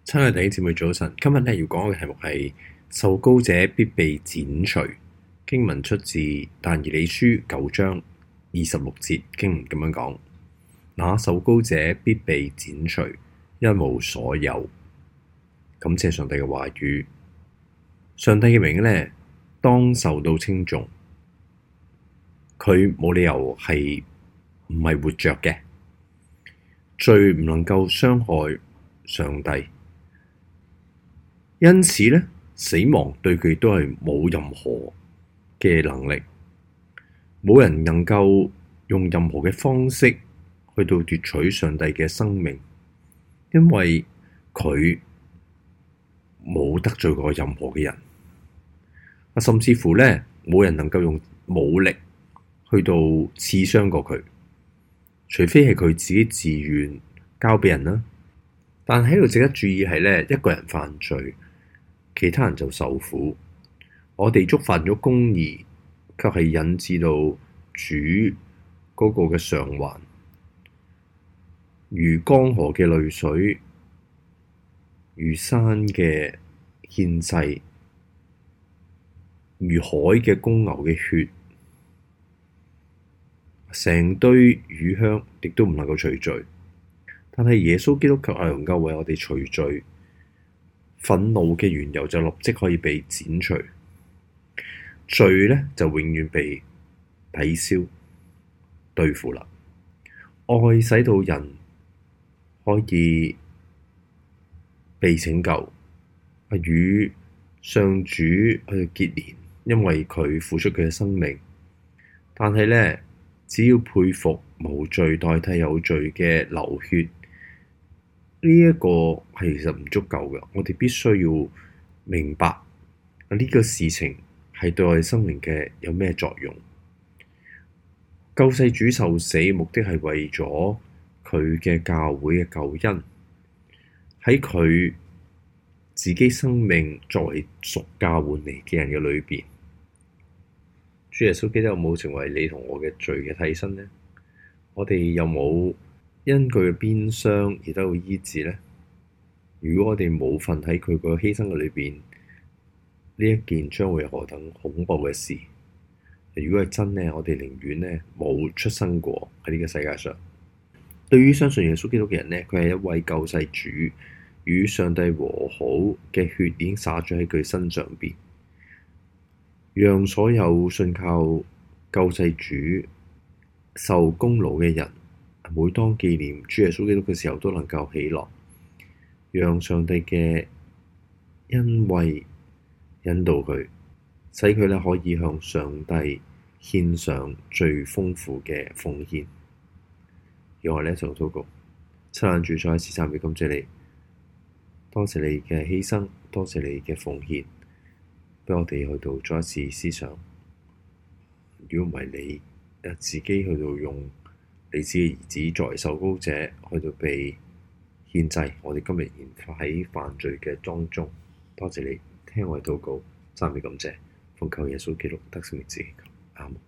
親愛的弟兄姊妹早晨，今日要講嘅題目係受膏者必被剪除。經文出自但以理書9章26節，經文咁樣講：那受膏者必被剪除，一無所有。感謝上帝嘅話語，上帝嘅名呢，當受到稱頌。佢冇理由係唔係活着嘅，罪唔能夠傷害上帝。因此呢，死亡對佢都係冇任何嘅能力，冇人能夠用任何嘅方式去到奪取上帝嘅生命，因為佢冇得罪過任何嘅人，甚至乎呢，冇人能夠用武力去到刺傷過佢，除非係佢自己自願交俾人啦。但喺度值得注意係呢，一個人犯罪，其他人就受苦。我哋觸犯咗公義，卻係引致到主嗰個嘅償還，如江河嘅淚水，如山嘅獻祭，如海嘅公牛嘅血，成堆乳香亦都唔能夠除罪。但係耶穌基督卻係能夠為我哋除罪。憤怒嘅緣由就立即可以被剪除，罪呢就永遠被抵消對付啦。愛使到人可以被拯救，與上主去結連，因為佢付出佢嘅生命。但係呢，只要佩服無罪代替有罪嘅流血，呢一個係其實唔足夠嘅，我哋必須要明白呢個事情係對我哋生命嘅有咩作用。救世主受死目的係為咗佢嘅教會嘅救恩，喺佢自己生命作為贖價換嚟嘅人嘅裏邊，主耶穌基督有冇成為你同我嘅罪嘅替身呢？我哋有冇因佢嘅鞭傷而得到醫治呢？如果我哋冇份喺佢個犧牲嘅裏邊，呢一件將會何等恐怖嘅事！如果係真呢，我哋寧願呢冇出生過喺呢個世界上。對於相信耶穌基督嘅人呢，佢係一位救世主，與上帝和好嘅血已經灑咗喺佢身上邊，讓所有信靠救世主受功勞嘅人，每當紀念主耶穌基督嘅時候，都能夠喜樂，讓上帝嘅恩惠引導佢，使佢咧可以向上帝獻上最豐富嘅奉獻。讓我哋一齊禱告。親愛主，再一次讚美感謝你，多謝你嘅犧牲，多謝你嘅奉獻，俾我哋去到再一次思想。如果唔係你自己去到用你自己兒子作為受膏者去到被獻祭，我哋今日仍喺犯罪嘅當中。多謝你聽我哋禱告，讚美感謝，奉靠耶穌基督得勝名字祈求，阿們。